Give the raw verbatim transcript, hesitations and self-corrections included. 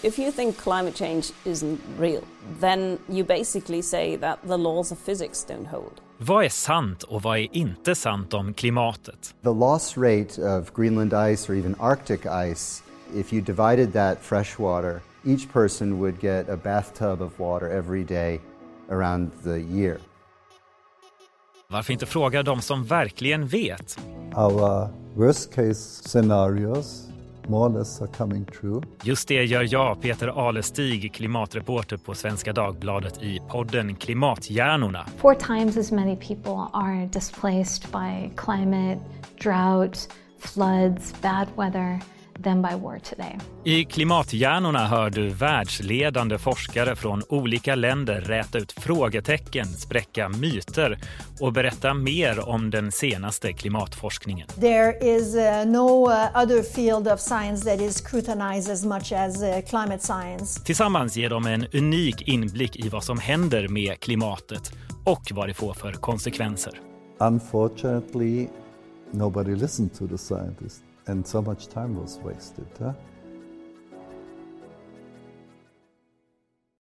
If you think climate change isn't real, then you basically say that the laws of physics don't hold. Vad är sant och vad är inte sant om klimatet? The loss rate of Greenland ice or even Arctic ice, if you divided that fresh water, each person would get a bathtub of water every day around the year. Varför inte fråga de som verkligen vet? Our worst case scenarios more or less are coming true. Just det gör jag, Peter Alestig, klimatreporter på Svenska Dagbladet i podden Klimathjärnorna. Four times as many people are displaced by climate, drought, floods, bad weather than by war today. I Klimathjärnorna hör du världsledande forskare från olika länder räta ut frågetecken, spräcka myter och berätta mer om den senaste klimatforskningen. There is uh, no uh, other field of science that is scrutinized as much as uh, climate science. Tillsammans ger de en unik inblick i vad som händer med klimatet och vad det får för konsekvenser. Unfortunately, nobody listened to the scientists. And so much time was wasted. Huh?